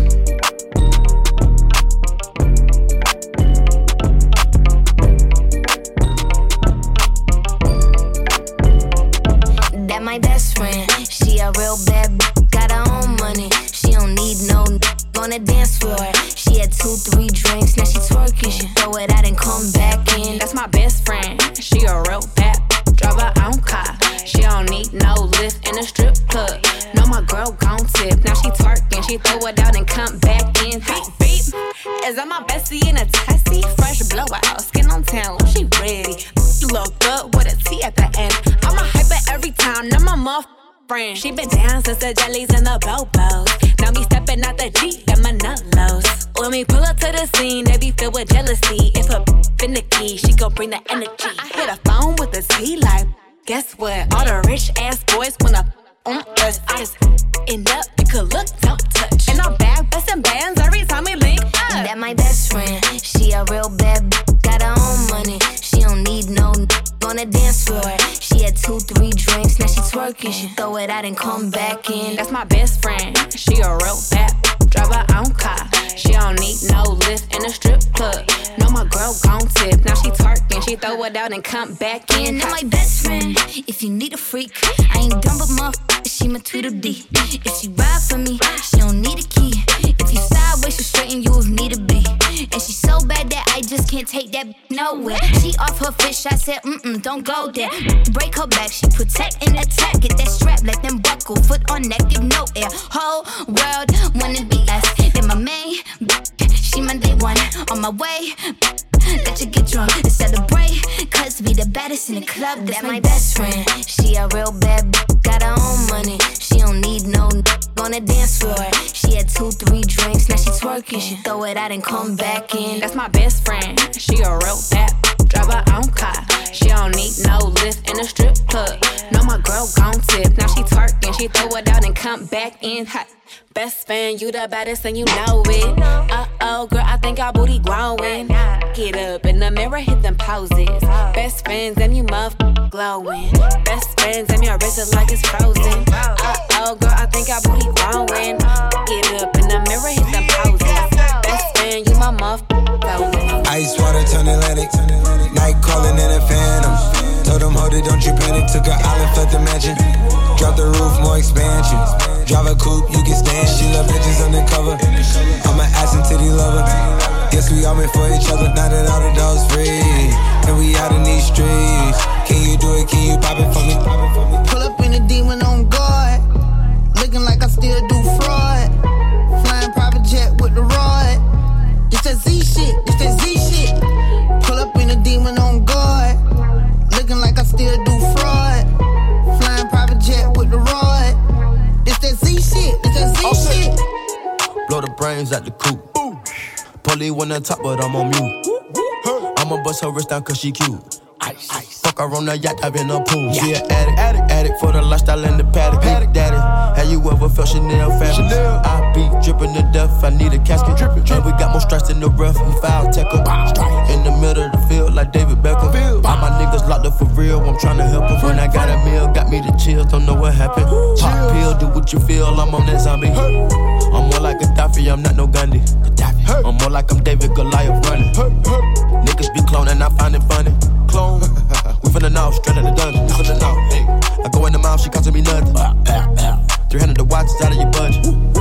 That my best friend, she a real bad got her own money. She don't need no on the dance floor. She had 2-3 drinks, now she twerking. She throw it out and come back in. That's my best friend, she a real bad drive her own car. She don't need no lift in a strip club. No, my girl gon' tip, now she twerking. She throw it out and come back in. Beep, beep. Is that my bestie in a taxi? Fresh blowout, skin on town, she ready. You look good with a T at the end. I'm a hyper every time, now my muff friend. She been down since the jellies and the bobos. Now me stepping out the Jeep and my nut-lows. When we pull up to the scene, they be filled with jealousy. If a finicky, she gon' bring the energy. I hit a phone with a T like, guess what? All the rich ass boys wanna on us. I just end up, you could look, don't touch. And I'm back, bustin' bands every time we link up. That my best friend, she a real bad got her own money. She don't need no on the dance floor. She had 2-3 drinks, now she twerking. She throw it out and come back in. That's my best friend, she a real bad drive her own car. She don't need no lift in a strip club. No, my girl gon' tip, now she twerking. She throw it out and come back in. That my best friend, if you need a freak, I ain't dumb but motherfucker, she my Tweedledee. If she ride for me, she don't need a key. If you sideways, she straighten you if need a be. And she so bad that I just can't take that nowhere. She off her fish, I said, don't go there. Break her back, she protect and attack. Get that strap, let them buckle, foot on neck, give no air. Whole world wanna be us. Then my main, she my day one. On my way, let you get drunk and celebrate. Cause we the baddest in the club, that's my best friend. She a real bad got her own money. She don't need no on the dance floor. She had 2-3 drinks, now she twerking. She throw it out and come back in. That's my best friend, she a real bad drive her own car. She don't need no lift in a strip club. No, my girl gon' tip, now she twerking. She throw it out and come back in hot. Best fan, you the baddest and you know it. Uh-oh, girl, I think our booty growing. Get up in the mirror, hit them poses. Best friends, and you muff glowing. Best friends, and your wrist is like it's frozen. Uh-oh, girl, I think our booty growing. Get up in the mirror, hit them poses. Best friend, you my muff glowing. Ice water turn Atlantic. Night calling in a phantom. Told them, hold it, don't you panic. Took an island, fled the mansion. Drop the roof, more expansion. Drive a coupe, you can stand. She love bitches undercover. I'm an ass and titty lover. Guess we all meant for each other. Now that all the dogs free, and we out in these streets. Can you do it? Can you pop it for me? Pull up in a demon on guard. Looking like I still do fraud. Flying private jet with the rod. It's that Z shit, it's that Z shit. Pull up in a demon on guard. Looking like I still do fraud. Flying private jet with the rod. It's that Z shit, it's that Z shit. Blow the brains out the coop. Polly on the top, but I'm on mute. I'ma bust her wrist down cause she cute. Ice. Fuck her on the yacht, I've been a pool. She an addict for the lifestyle and the paddock. Big daddy, have you ever felt Chanel fabric? I be dripping to death, I need a casket. And we got more strikes in the rough, we foul tech em. In the middle of the field like David Beckham. All my niggas locked up for real, I'm tryna help them. When I got a meal, got me the chills, don't know what happened. Pop pill, do what you feel, I'm on that zombie. I'm more like Gaddafi, I'm not no Gandhi. I'm more like I'm David Goliath running. Niggas be cloning, I find it funny. Clone, we finna know, straight out the dungeon. We finna know, hey. I go in the mouth, she costing me nothing. 300 the watch is out of your budget.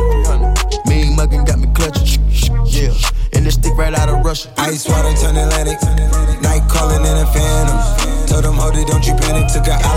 300. Mean muggin' got me clutching. Yeah, and this stick right out of Russia. Ice water turn Atlantic. Night calling in a phantom. Told them, hold it, don't you panic. Took her out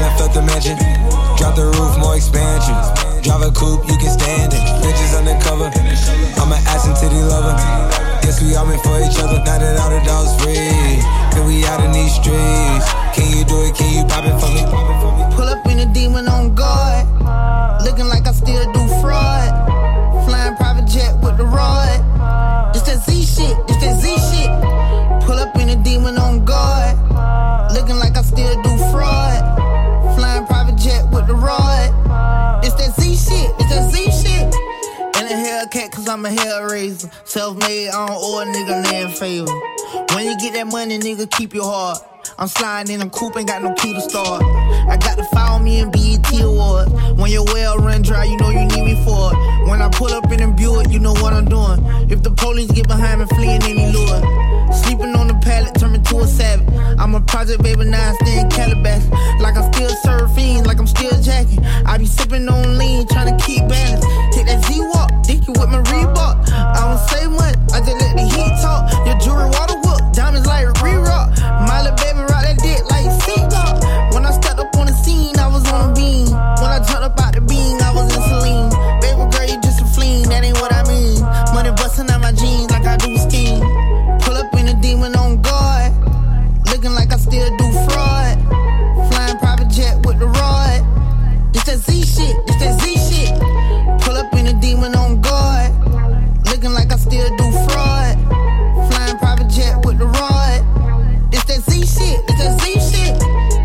coupe, you can stand it. Bitches undercover, I'm an ass and titty lover. Guess we all meant for each other. Now that all the dogs free, can we out in these streets? Can you do it? Can you pop it for me? Pull up in a demon on guard, looking like I still do fraud. Flying private jet with the rod. It's that Z shit, it's that Z shit. Pull up in a demon on guard, looking like I still do fraud. Flying private jet with the rod. It's that Z shit, it's that Z shit. And a Hellcat cause I'm a hellraiser. Self-made, I don't owe a nigga land favor. When you get that money, nigga, keep your heart. I'm sliding in a coupe, ain't got no key to start. I got to follow me in BET Awards. When your well run dry, you know you need me for it. When I pull up in a Buick, you know what I'm doing. If the police get behind me, fleeing any lure. Sleeping on the pallet, turn me to a savage. I'm a project baby, now I stay in Calabasas. Like I still serve fiends, like I'm still jacking. I be sipping on lean, trying to keep balance. Take that Z-Walk, dicky with my Reebok. I don't say much, I just let the heat talk. Your jewelry water whoop, diamonds like re-rock. My little baby rock that dick like seagull. When I stepped up on the scene, I was on a beam. When I jumped up out the beam, I was in saline. Baby girl, you just a fleen, that ain't what I mean. Money busting out my jeans like I do scheme. Pull up in a demon on guard, looking like I still do fraud. Flying private jet with the rod. It's that Z shit, it's that Z shit. Pull up in a demon on guard, looking like I still do fraud. Flying private jet with the rod. It's that Z shit, it's that Z shit.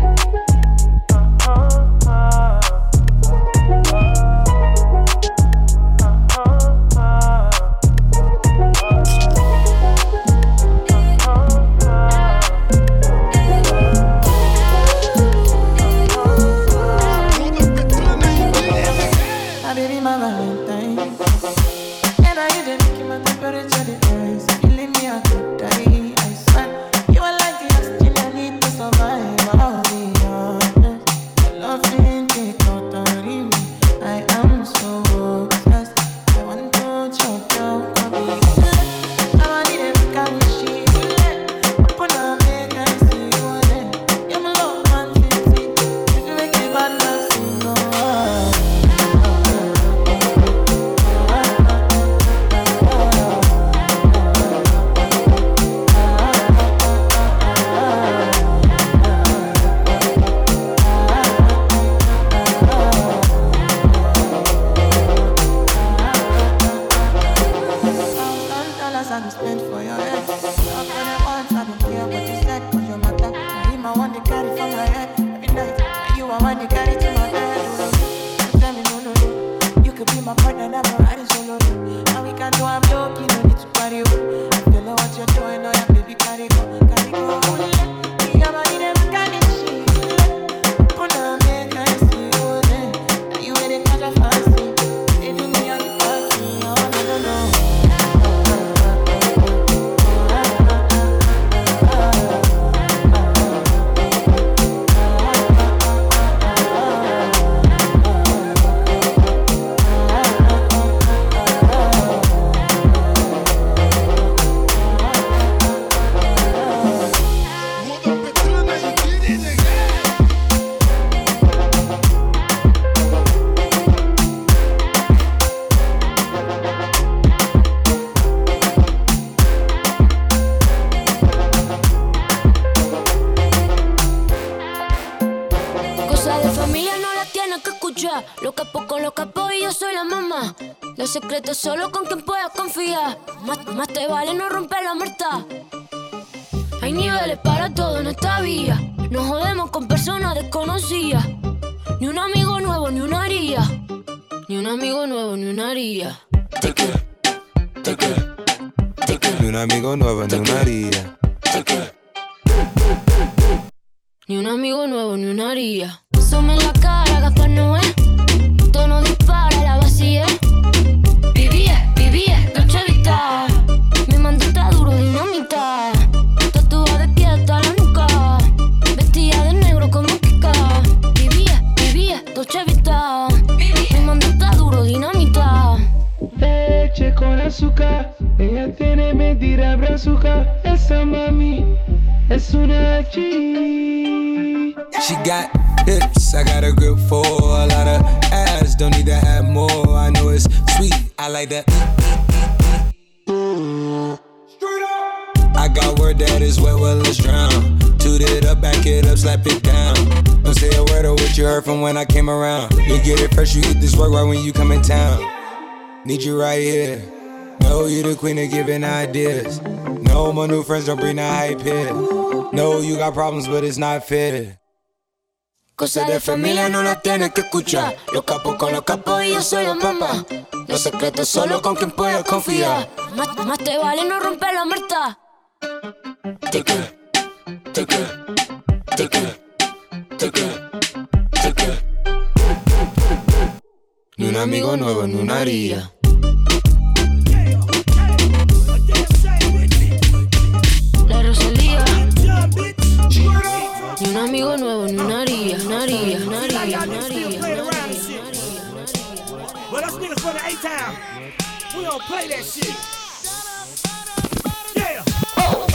My baby, my Valentine, and I hit the making my temperature the rise. You leave me out to die, I swear. You are like the oxygen I need to survive. I'll be honest, your love ain't take no time. I am so obsessed. I want to choke down, I want it every kind of shit. Open up, make I see you there. You're my love, man, 50. If you make it bad, I'll see no one. I can spend for your head. Love when I want, I don't care what you said. Cause your matter, now him I want to carry from my head. Every night, and you I want to carry to my bed. You tell me no, you could be my partner, never riding solo. And we can do I'm low, you don't need to party. I feel like what you're doing, oh yeah, baby, carry go. You got money, never got this shit. Put on me, can I see you there? Now you ain't a catch a fancy. They do me on the party, oh no. Lo capo con los capos y yo soy la mamá. Los secretos solo con quien puedas confiar. Más te vale no romper la muerta. Hay niveles para todo en esta vía. No jodemos con personas desconocidas. Ni un amigo nuevo, ni una haría. Ni un amigo nuevo, ni una haría. Ni un amigo nuevo, ni una haría. Ni un amigo nuevo, ni una haría. Sume la cara, Gaspar Noé. Tono dispara, la vacía. Vivía, Dolce Vita. Mi mando está duro, dinamita. Tatuada de pie hasta la nuca. Vestida de negro como Kika. Vivía, Dolce Vita. Mi mando está duro, dinamita. Leche con azúcar. Ella tiene mentira brazuca. Esa mami es una G. She got hips, I got a grip for a lot of ass. just don't need to have more. I know it's sweet, I like that. I got word that is wet, well let's drown. Toot it up, back it up, slap it down. Don't say a word of what you heard from when I came around. You get it fresh, you eat this work right when you come in town. Need you right here. No, you the queen of giving ideas. No, my new friends don't bring the hype here. No, you got problems, but it's not fair. Cosas de familia no las tienes que escuchar. Los capos con los capos y yo soy la mamá. Los secretos solo con quien puedas confiar. Más te vale no romper la muerta. Take it, take it, take it, take it, take it. Ni un amigo nuevo ni una haría. La Rosalía. Ni un amigo nuevo ni una haría. Well, us niggas from the A-Town, we don't play that shit. Yeah. Oh.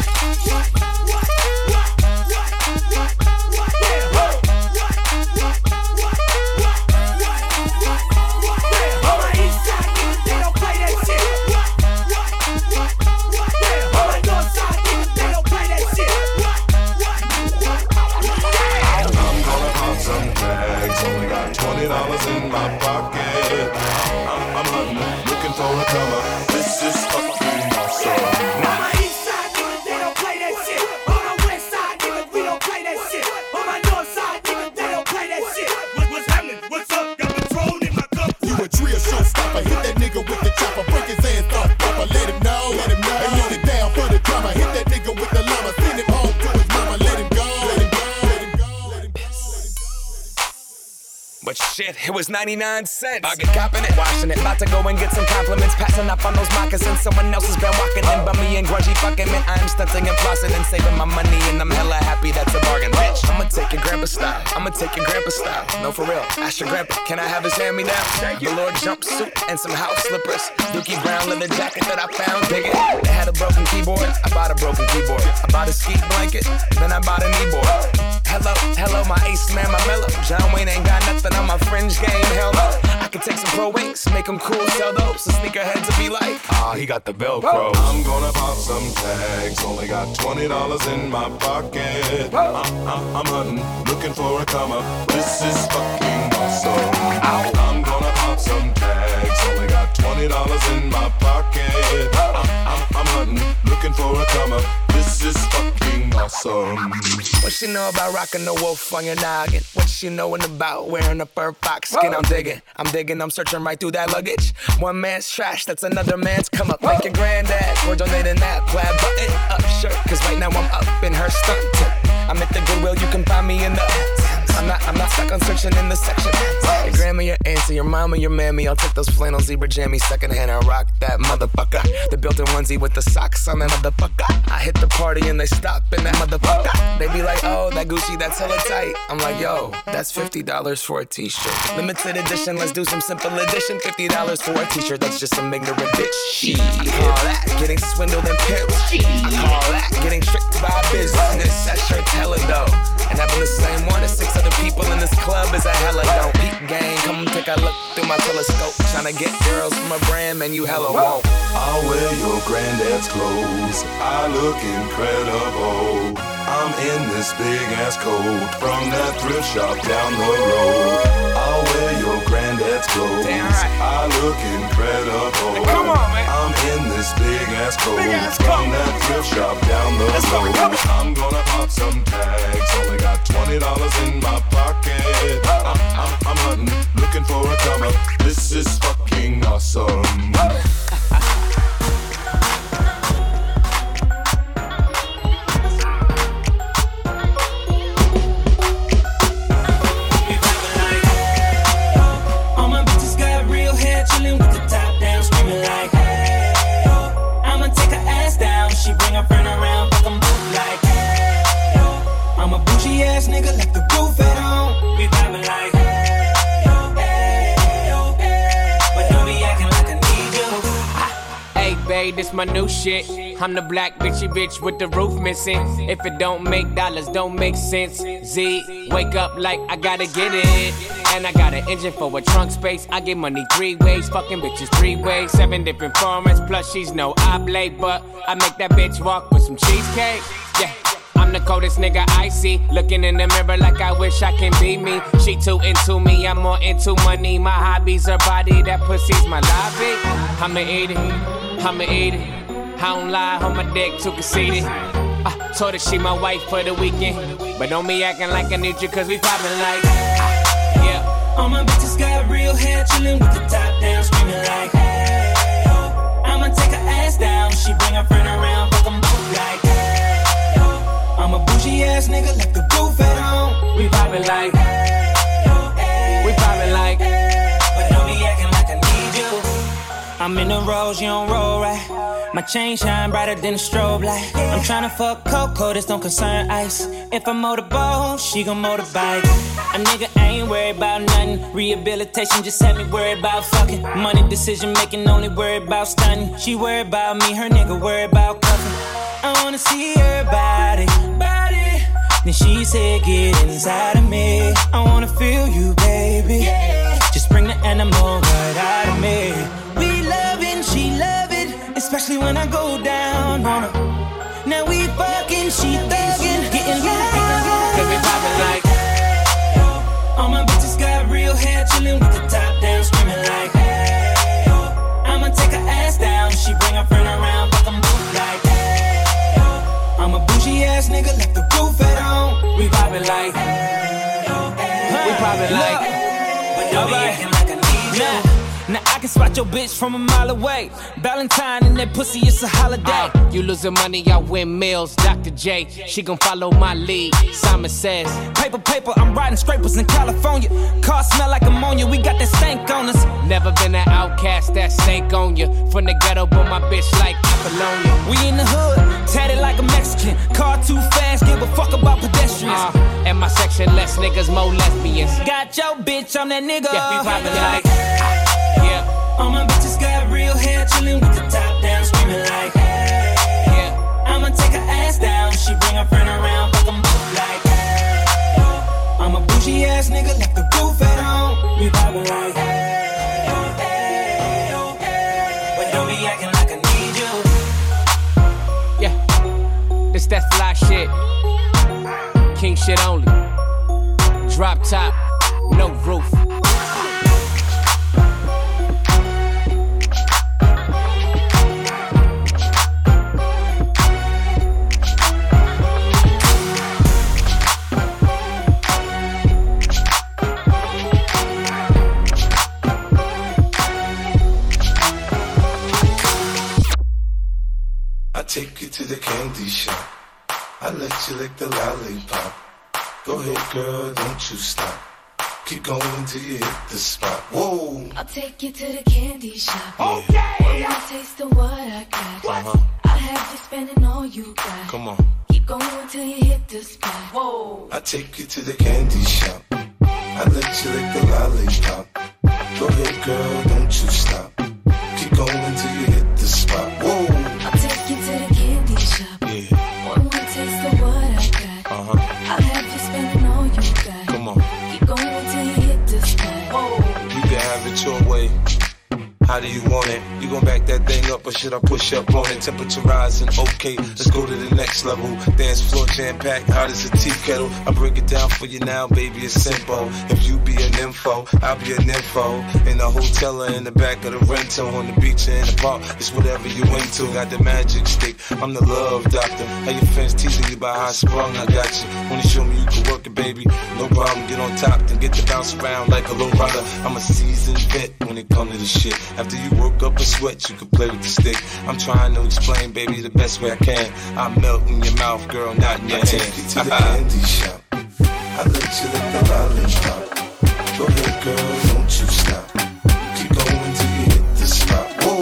Only got $20 in my pocket. I'm hunting, looking for a come up. This is fucking awesome. On my east side, nigga, they don't play that shit. On my west side, nigga, we don't play that shit. On my north side, nigga, they don't play that shit. What's happening? What's up? Got Patron in my cup. You a trio showstopper. Hit that nigga with the chopper. Break his ass off, proper. Let him know. And hold it down for the drama. Hit that nigga with the llama. Send him home to his mama. Let him go. But shit, it was 99 cents. I get copping it, washing it. About to go and get some compliments. Passing up on those moccasins. Someone else has been walking in by me and grudgy fucking man. I'm stunting and flossing and saving my money. And I'm hella happy that's a bargain, bitch. I'ma take your grandpa style. No, for real. Ask your grandpa, can I have his hand-me-down? Velour jumpsuit and some house slippers. Dookie brown leather jacket that I found. Dig it. They had a broken keyboard. I bought a broken keyboard. I bought a ski blanket. Then I bought a kneeboard. Hello, my ace man, my mellow. John Wayne ain't got nothing on my fringe game, hell no. I could take some pro wings, make them cool, sell those. So sneakerheads will be like, he got the Velcro. I'm gonna pop some tags, only got $20 in my pocket. I'm hunting, looking for a come up. This is fucking awesome. I'm gonna pop some tags, only got $20 in my pocket. I'm hunting, looking for a come up. This is fucking awesome. What she know about rocking the wolf on your noggin? What she knowin' about wearing a fur fox skin? I'm digging, I'm searching right through that luggage. One man's trash, that's another man's come up. Like your granddad, we're donating that plaid button up shirt. Cause right now I'm up in her stunt. I'm at the Goodwill, you can find me in the I'm not stuck on searching in the section. Your grandma, your auntie, your mama, your mammy. I'll take those flannel zebra jammies secondhand and rock that motherfucker. The built-in onesie with the socks on that motherfucker. I hit the party and they stop in that motherfucker. They be like, oh, that Gucci, that's hella tight. I'm like, yo, that's $50 for a t-shirt. Limited edition, let's do some simple edition. $50 for a t-shirt, that's just some ignorant bitch. Shit. I call that getting swindled and pimped. I call that getting tricked by business. That shirt's hella dope. And having the same one as 6 other people in this club is a hella don't. Peep gang, come take a look through my telescope. Tryna get girls from a brand, man, you hella won't. I'll wear your granddad's clothes. I look incredible. I'm in this big ass coat from that thrift shop down the road. I'll wear your granddad's clothes. I look incredible. Come on, man. I'm in this big ass coat from that thrift shop down the road. I'm gonna pop some tags. Only got $20 in my pocket. I'm hunting, looking for a come up. This is fucking awesome. She bring her friend around, fuck 'em both like, hey, yo. I'm a bougie ass nigga, like the roof at home. We vibing like, hey, yo, hey, yo, hey. But don't be acting like I need you. Hey, babe, this my new shit. I'm the black bitchy bitch with the roof missing. If it don't make dollars, don't make sense. Z, wake up like I gotta get it. And I got an engine for a trunk space. I get money 3 ways, fucking bitches 3 ways. 7 different formats, plus she's no oblate. But I make that bitch walk with some cheesecake. Yeah. I'm the coldest nigga I see. Looking in the mirror like I wish I can be me. She too into me, I'm more into money. My hobby's her body, that pussy's my lobby. I'ma eat it, I'ma eat it. I don't lie, on my dick too conceited. Told her she my wife for the weekend. But don't be acting like I need you, cause we poppin' like yeah. All my bitches got real hair, chillin' with the top down, screaming like hey, oh. I'ma take her ass down, she bring her friend around, fuck 'em both like hey, oh. I'm a bougie ass nigga, left the roof at home. We poppin' like hey, oh, hey, we poppin' like hey, but don't be acting like I need you. I'm in the rose, you don't roll right. My chain shine brighter than a strobe light. I'm tryna fuck Coco, this don't concern ice. If I motorboat, she gon' motorbike. A nigga ain't worried about nothing. Rehabilitation just had me worried about fucking. Money decision making, only worried about stunning. She worried about me, her nigga worried about cuffing. I wanna see her body. Then she said, get inside of me. I wanna feel you, baby. Just bring the animal right out of me. We loving, she love it. Especially when I go down on her. Now we fucking, she thuggin', getting low. Cause we poppin' like all my bitches got real hair, chillin' with the top down, screaming like hey, oh. I'ma take her ass down, she bring her friend around, fuck 'em both like hey, oh. I'm a bougie ass nigga, left the roof at home. We poppin' like hey, oh, hey, we poppin' like but don't be acting like I need you. Now I can spot your bitch from a mile away. Valentine and that pussy, it's a holiday. You losing money, I win meals. Dr. J, she gon' follow my lead. Simon says, paper, I'm riding scrapers in California. Car smell like ammonia, we got that stank on us. Never been an outcast, that stank on you. From the ghetto, but my bitch like Apollonia. We in the hood, tatted like a Mexican. Car too fast, give a fuck about pedestrians. And my section, less niggas, more lesbians. Got your bitch, I'm that nigga. Yeah, we poppin' like yeah. All my bitches got real hair, chillin' with the top down, screaming like hey, yeah. I'ma take her ass down, she bring her friend around, fuck 'em both like hey, oh. I'm a bougie ass nigga, left the roof at home. We poppin' like hey, oh, hey, oh, hey, but don't be acting like I need you. Yeah, this that fly shit, king shit only. Drop top, no roof. Take you to the candy shop. I let you lick the lollipop. Go ahead, girl, don't you stop. Keep going till you hit the spot. Whoa! I'll take you to the candy shop. Okay! One more taste of what I got. I'll have you spending all you got. Come on. Keep going till you hit the spot. Whoa! I take you to the candy shop. I let you lick the lollipop. Go ahead, girl, don't you stop. Keep going till you hit the spot. Whoa! I'll take you to the candy shop. Yeah. One more taste of what I got. I'll have you spending all you got. Come on. Keep going till you hit the spot. Whoa! You can have it your way. How do you want it? You gon' back that thing up or should I push up on it? Temperature rising, okay, let's go to the next level. Dance floor jam-packed, hot as a tea kettle. I break it down for you now, baby, it's simple. If you be an info, I'll be an info. In a hotel or in the back of the rental, on the beach or in the park, it's whatever you into. Got the magic stick, I'm the love doctor. How your friends teasing you about how I sprung, I got you. Wanna show me you can work it, baby? No problem, get on top, then get to bounce around like a low rider. I'm a seasoned vet when it comes to the shit. After you work up a sweat, you can play with the stick. I'm trying to explain, baby, the best way I can. I melt in your mouth, girl, not in your hand. I take you to the candy shop. I let you lick the lollipop. Go ahead, girl, don't you stop. Keep going till you hit the spot. Whoa!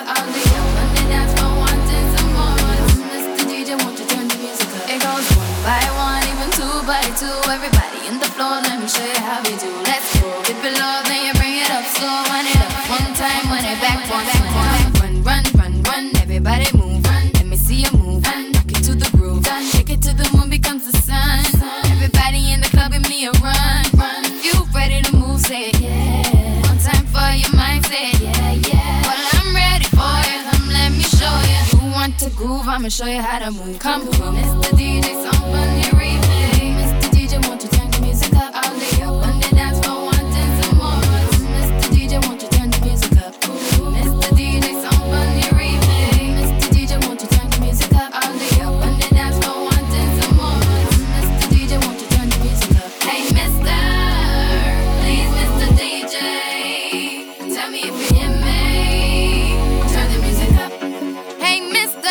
all day up on the dance floor, wanting some more. Mr. DJ, won't you turn the music up? It goes one by one, even two by two. Everybody in the floor, let me show you how we do. Let's go, dip it low, then you bring it up slow. Run it up one time, run it back once more. Run, run, run, everybody move. Let me see you move. Knock it to the groove. Shake it to the moon becomes the sun. Everybody in the club, give me a run. If you ready to move, say it, yeah. One time for your mind, say it, yeah, yeah. Well, I'm ready for you, let me show you. You want to groove, I'ma show you how to move. Come on, Mr. DJ, some fun here replay. Mr. DJ, won't you turn the music up all day up on the dance floor, wanting some more. Mr. DJ, won't you turn the music up? Mr. DJ, some fun here replay. Mr. DJ, won't you turn the music up all day up on the dance floor, wanting some more. Mr. DJ, won't you turn the music up? Hey, Mr. Please, Mr. DJ, tell me if you hear me. Turn the music up. Hey, Mr.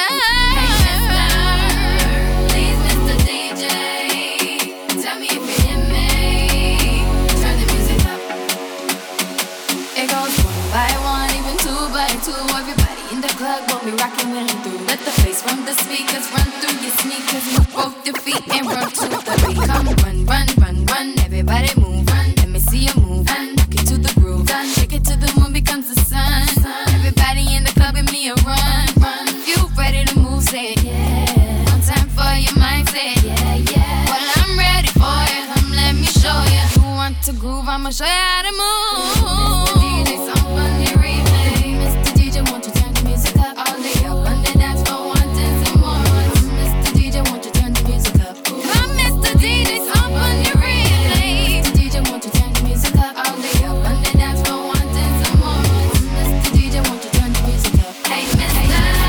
Please, Mr. DJ, tell me if you hear me. Turn the music up. It goes one by one, even two by two. Everybody in the club will be rocking when I'm through. Let the bass from the speakers run through your sneakers. Move both your feet and run to the beat. Come run, run, run, run. Everybody move. Let me see you move. Knock it to the groove. Shake it to the moon becomes the sun. Everybody in the club, give me a run. If you ready to move, say it, yeah. One time for your mind, say it, yeah, yeah. Well, I'm ready for you. Let me show you. You want to groove, I'ma show you how to move. Mr. DJ, some fun here replay. Mr. DJ, won't you turn the music up all day up on the dance floor, wanting some more. Mr. DJ, won't you turn the music up? Come, Mr. DJ, some fun here replay. Mr. DJ, won't you turn the music up all day up on the dance floor, wanting some more. Mr. DJ, won't you turn the music up? Hey, Mr.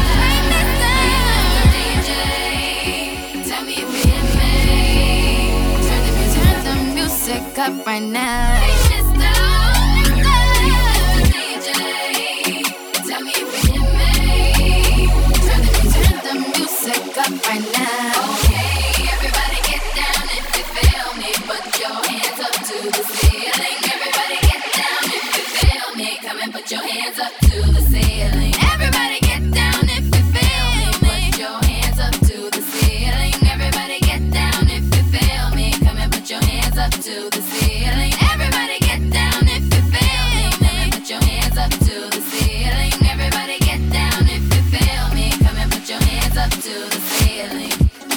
DJ, tell me if you hear me. Turn the music up right now. Hey, Mr. DJ, tell me if you hear me. Turn the music up right now. Okay, everybody get down if you feel me. Put your hands up to the ceiling. Everybody get down if you feel me. Come and put your hands up to the ceiling. Everybody get down if you feel me. Put your hands up to the ceiling. Everybody get down if you feel me. Come and put your hands up to the ceiling. Everybody get down if you feel me. Come and put your hands up to the ceiling. Everybody get down if you feel me. Come and put your hands up to the ceiling.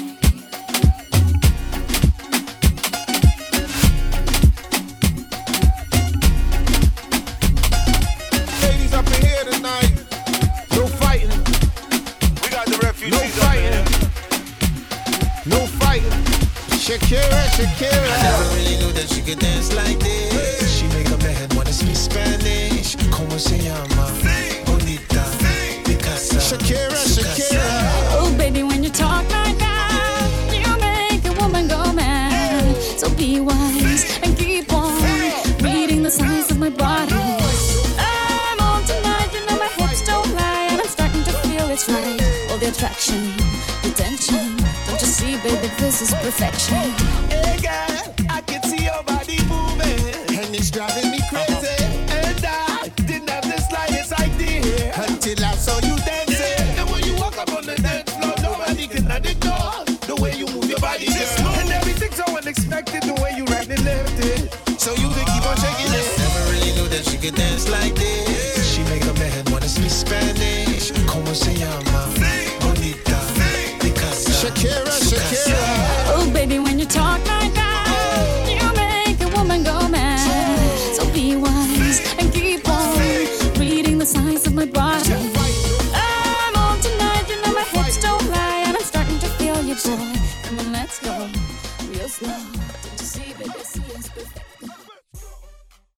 Ladies up in here tonight. No fighting. We got the refugees. No fighting. No fighting. Shakira, Shakira. I never really knew that she could dance like this. She make a man wanna speak Spanish. Como se llama? Bonita. Picasa. Shakira, Shakira. Oh, baby, when you talk like that, you make a woman go mad. So be wise and keep on reading the signs of my body. I'm on tonight, you know my hips don't lie, and I'm starting to feel it's right. All the attraction, the tension. Don't you see, baby, this is perfection. Hey girl, I can see your body moving, and it's driving me crazy. And I didn't have the slightest idea until I saw you dancing. And when you walk up on the dance floor, nobody can ignore the way you move your body, girl. And everything's so unexpected, the way you right and left it. So you can keep on shaking it. Never really knew that she could dance like this. She make a man wanna speak Spanish. Como se llama? Bonita. Picasa. Shakira, Shakira. Oh, baby, when you talk like that, you make a woman go mad. So be wise and keep on reading the signs of my body. I'm on tonight, you know my hips don't lie, and I'm starting to feel you, boy. Come on, let's go real slow. Don't you see, baby, see it's perfect.